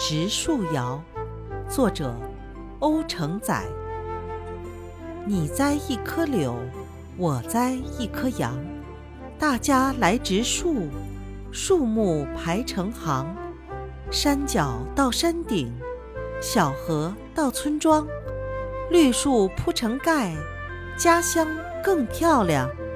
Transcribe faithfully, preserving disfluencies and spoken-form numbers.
植树谣》，作者欧承载。你栽一棵柳，我栽一棵杨，大家来植树，树木排成行，山脚到山顶，小河到村庄，绿树铺成盖，家乡更漂亮。